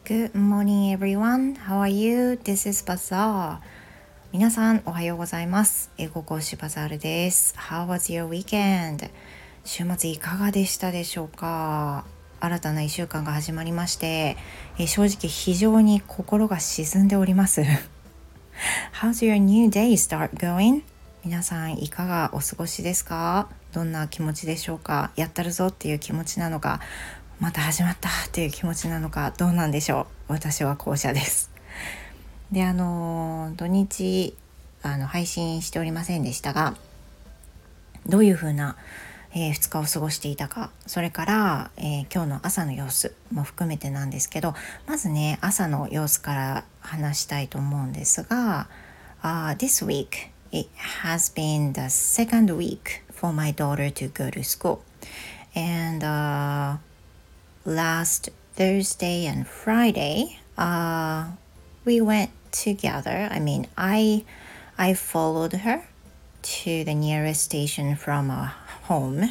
Good morning everyone. How are you? This is Bazaar. 皆さんおはようございます。英語講師バザールです。How was your weekend? 週末いかがでしたでしょうか？新たな1週間が始まりまして、正直非常に心が沈んでおります。How's your new day start going? 皆さんいかがお過ごしですか？どんな気持ちでしょうか？やったるぞっていう気持ちなのか、また始まったっていう気持ちなのか、どうなんでしょう。私は後者です。で、土日配信しておりませんでしたが、どういう風な、2日を過ごしていたか、それから、今日の朝の様子も含めてなんですけど、まずね、朝の様子から話したいと思うんですが、This week it has been the second week for my daughter to go to school, and last Thursday and Friday, we went together. I followed her to the nearest station from our home.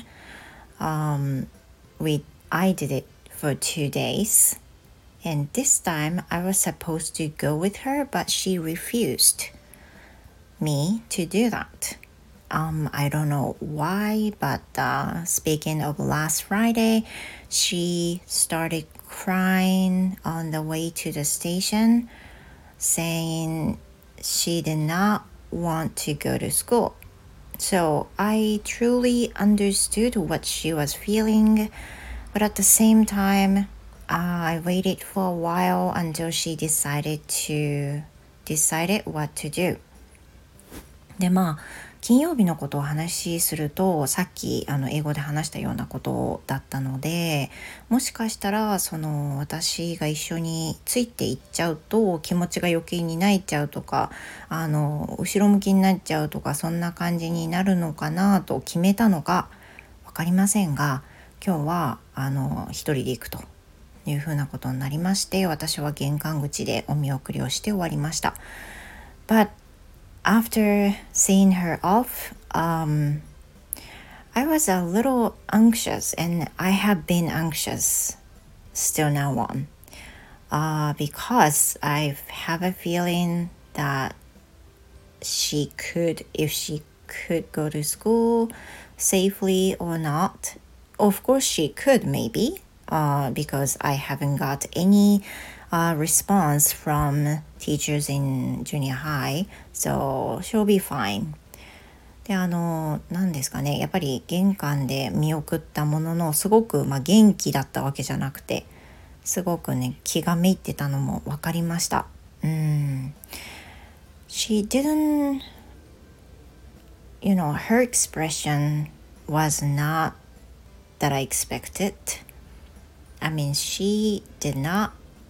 I did it for 2 days, and this time I was supposed to go with her, but she refused me to do that. I don't know why, but speaking of last Friday, she started crying on the way to the station, saying she did not want to go to school. So I truly understood what she was feeling, but at the same time, I waited for a while until she decided what to do. で、金曜日のことを話しすると、さっき英語で話したようなことだったので、もしかしたら私が一緒についていっちゃうと気持ちが余計に泣いちゃうとか、後ろ向きになっちゃうとか、そんな感じになるのかなと決めたのか分かりませんが、今日は一人で行くというふうなことになりまして、私は玄関口でお見送りをして終わりました。But after seeing her off, I was a little anxious, and I have been anxious still now on, because I have a feeling that if she could go to school safely or not. Of course she could, maybe, because I haven't got any response from teachers in junior high, so she'll be fine. で、何ですかね、やっぱり玄関で見送ったものの、すごく元気だったわけじゃなくて、すごくね気がめいってたのも分かりました。She didn't, her expression was not that I expected. She did not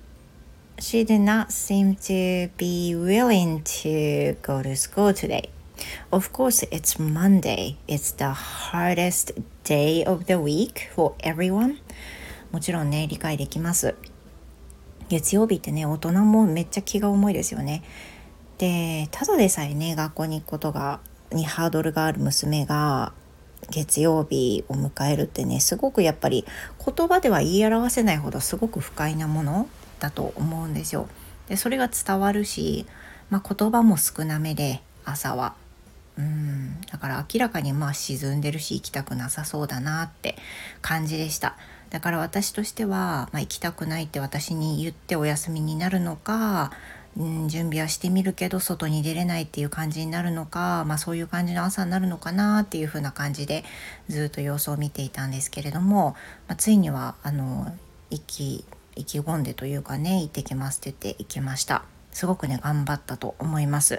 seem to be willing to go to school today. Of course, it's Monday. It's the hardest day of the week for everyone. もちろんね、理解できます。月曜日ってね、大人もめっちゃ気が重いですよね。で、ただでさえね、学校に行くことにハードルがある娘が月曜日を迎えるってね、すごくやっぱり言葉では言い表せないほどすごく不快なものだと思うんですよ。で、それが伝わるし、言葉も少なめで、朝はだから明らかに沈んでるし、行きたくなさそうだなって感じでした。だから私としては、行きたくないって私に言ってお休みになるのか、準備はしてみるけど外に出れないっていう感じになるのか、そういう感じの朝になるのかなっていう風な感じでずっと様子を見ていたんですけれども、ついには意気込んでというかね、行ってきますって言って行きました。すごくね頑張ったと思います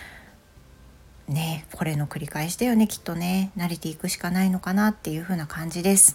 ね。これの繰り返しだよね、きっとね。慣れていくしかないのかなっていう風な感じです。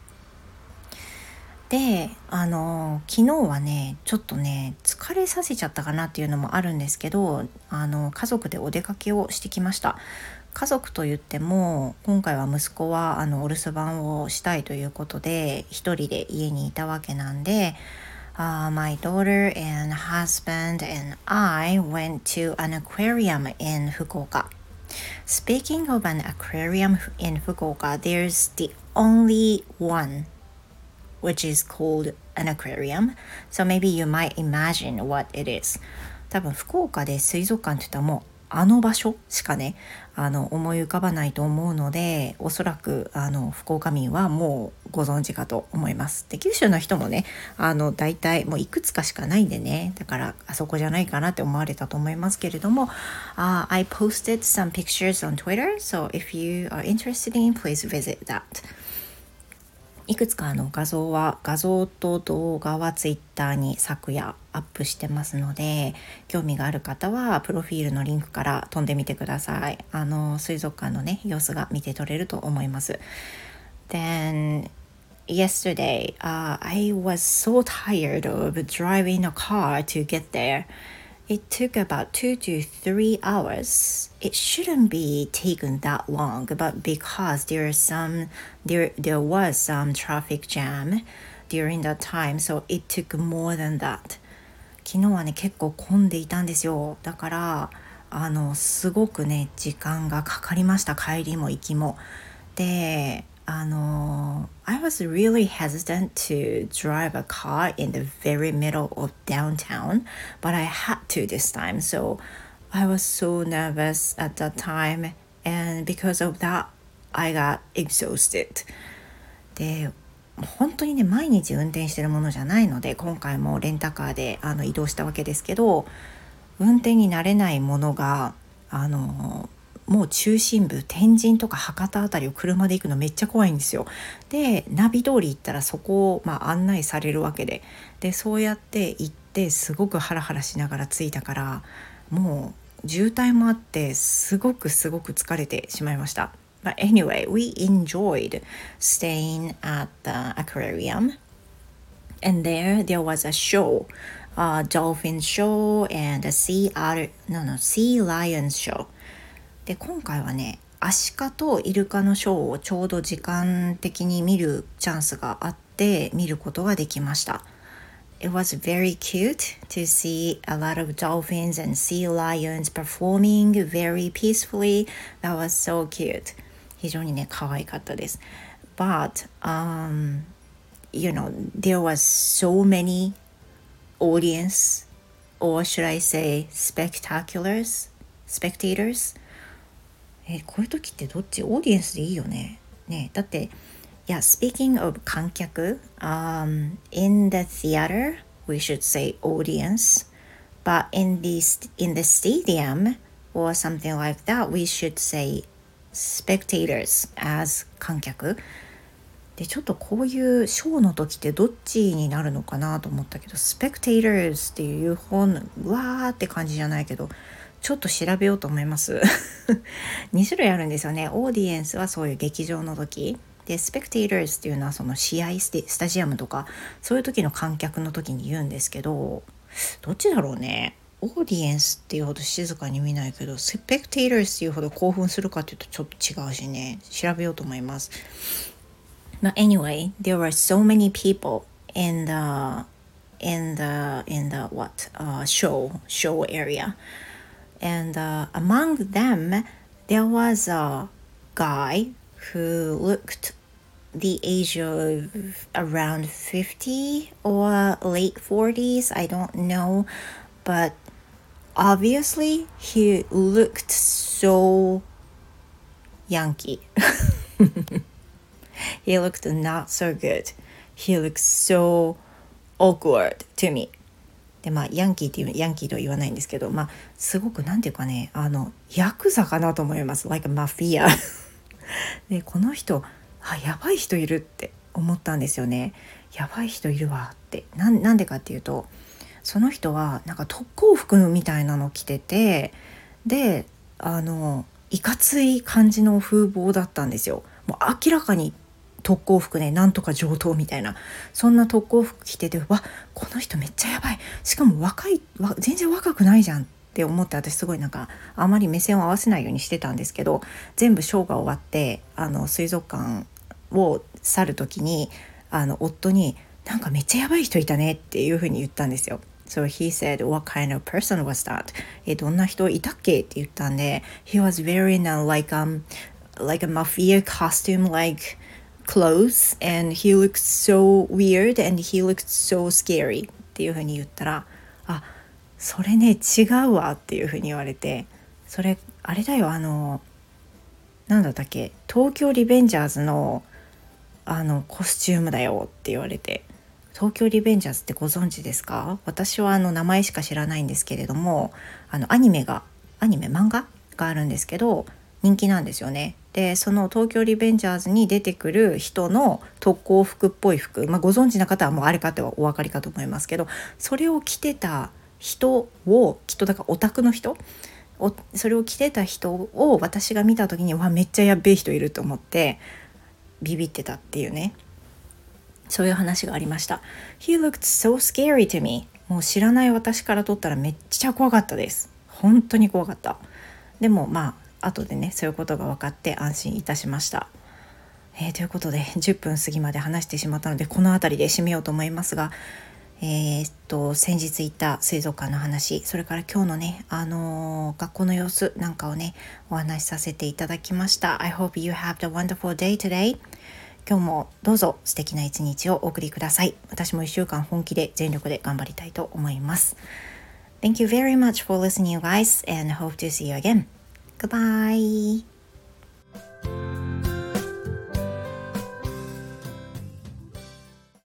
で、昨日はねちょっとね疲れさせちゃったかなっていうのもあるんですけど、家族でお出かけをしてきました。家族といっても、今回は息子はお留守番をしたいということで一人で家にいたわけなんで、my daughter and husband and I went to an aquarium in Fukuoka. Speaking of an aquarium in Fukuoka, there's the only one which is called an aquarium, so maybe you might imagine what it is. 多分福岡で水族館って言ったらもうあの場所しかね思い浮かばないと思うので、おそらく福岡民はもうご存知かと思います。で九州の人もね大体もういくつかしかないんでね、だからあそこじゃないかなって思われたと思いますけれども、I posted some pictures on Twitter, so if you are interested in, please visit that. いくつか画像と動画はツイッターに昨夜アップしてますので、興味がある方はプロフィールのリンクから飛んでみてください。水族館のね様子が見て取れると思います。Then yesterday, I was so tired of driving a car to get there.It took about 2 to 3 hours. It shouldn't be taken that long, but because there was some traffic jam during that time, so it took more than that. 昨日はね結構混んでいたんですよ。だからすごくね時間がかかりました。帰りも行きも。でI was really hesitant to drive a car in the very middle of downtown, but I had to this time. So I was so nervous at that time, and because of that, I got exhausted. で、本当にね毎日運転してるものじゃないので、今回もレンタカーで移動したわけですけど、運転に慣れないものがもう中心部天神とか博多あたりを車で行くのめっちゃ怖いんですよ。でナビ通り行ったらそこを案内されるわけで、そうやって行ってすごくハラハラしながら着いたから、もう渋滞もあってすごく疲れてしまいました。But anyway, we enjoyed staying at the aquarium, and there was a show, a dolphin show and a sea lion show.で今回はねアシカとイルカのショーをちょうど時間的に見るチャンスがあって見ることができました。It was very cute to see a lot of dolphins and sea lions performing very peacefully. That was so cute. 非常にね可愛かったです。But there was so many audience, or should I say spectators?こういう時ってどっち？オーディエンスでいいよね。だってspeaking of 観客、in the theater we should say audience, but in the stadium or something like that we should say spectators as 観客で、ちょっとこういうショーの時ってどっちになるのかなと思ったけど、spectators っていう本わーって感じじゃないけど、ちょっと調べようと思います2種類あるんですよね。オーディエンスはそういう劇場の時で、スペクテイターズっていうのはその試合スタジアムとかそういう時の観客の時に言うんですけど、どっちだろうね。オーディエンスっていうほど静かに見ないけど、スペクテイターズっていうほど興奮するかっていうとちょっと違うしね、調べようと思います。But anyway, there were so many people in the show area.And among them, there was a guy who looked the age of around 50 or late 40s. I don't know. But obviously, he looked so Yankee. He looked not so good. He looked so awkward to me.でヤンキーとは言わないんですけど、すごくなんていうかねヤクザかなと思います。 like a mafia でこの人やばい人いるって思ったんですよね。やばい人いるわって。なんでかっていうと、その人はなんか特攻服みたいなの着てて、でいかつい感じの風貌だったんですよ。もう明らかに特攻服ね、なんとか上等みたいな、そんな特攻服着てて、この人めっちゃやばい、しかも全然若くないじゃんって思って、私すごいあまり目線を合わせないようにしてたんですけど、全部ショーが終わって水族館を去る時に夫になんかめっちゃやばい人いたねっていう風に言ったんですよ。So he said, what kind of person was that? どんな人いたっけって言ったんで、he was wearing like a mafia costume, like clothes and he looked so weird and he looked so scary っていう風に言ったら、あ、それね違うわっていう風に言われて、それあれだよ、なんだったっけ、東京リベンジャーズのコスチュームだよって言われて、東京リベンジャーズってご存知ですか？私は名前しか知らないんですけれども、漫画があるんですけど人気なんですよね。でその東京リベンジャーズに出てくる人の特攻服っぽい服、ご存知な方はもうあれかってお分かりかと思いますけど、それを着てた人をきっとだからオタクの人、それを着てた人を私が見た時にめっちゃやっべえ人いると思ってビビってたっていうね、そういう話がありました。 He looked so scary to me。 もう知らない私からとったらめっちゃ怖かったです。本当に怖かった。でも後でねそういうことが分かって安心いたしました。ということで10分過ぎまで話してしまったのでこの辺りで締めようと思いますが、先日行った水族館の話、それから今日のね、学校の様子なんかをねお話しさせていただきました。 I hope you have a wonderful day today。 今日もどうぞ素敵な一日をお送りください。私も1週間本気で全力で頑張りたいと思います。 Thank you very much for listening you guys and hope to see you again. Goodbye.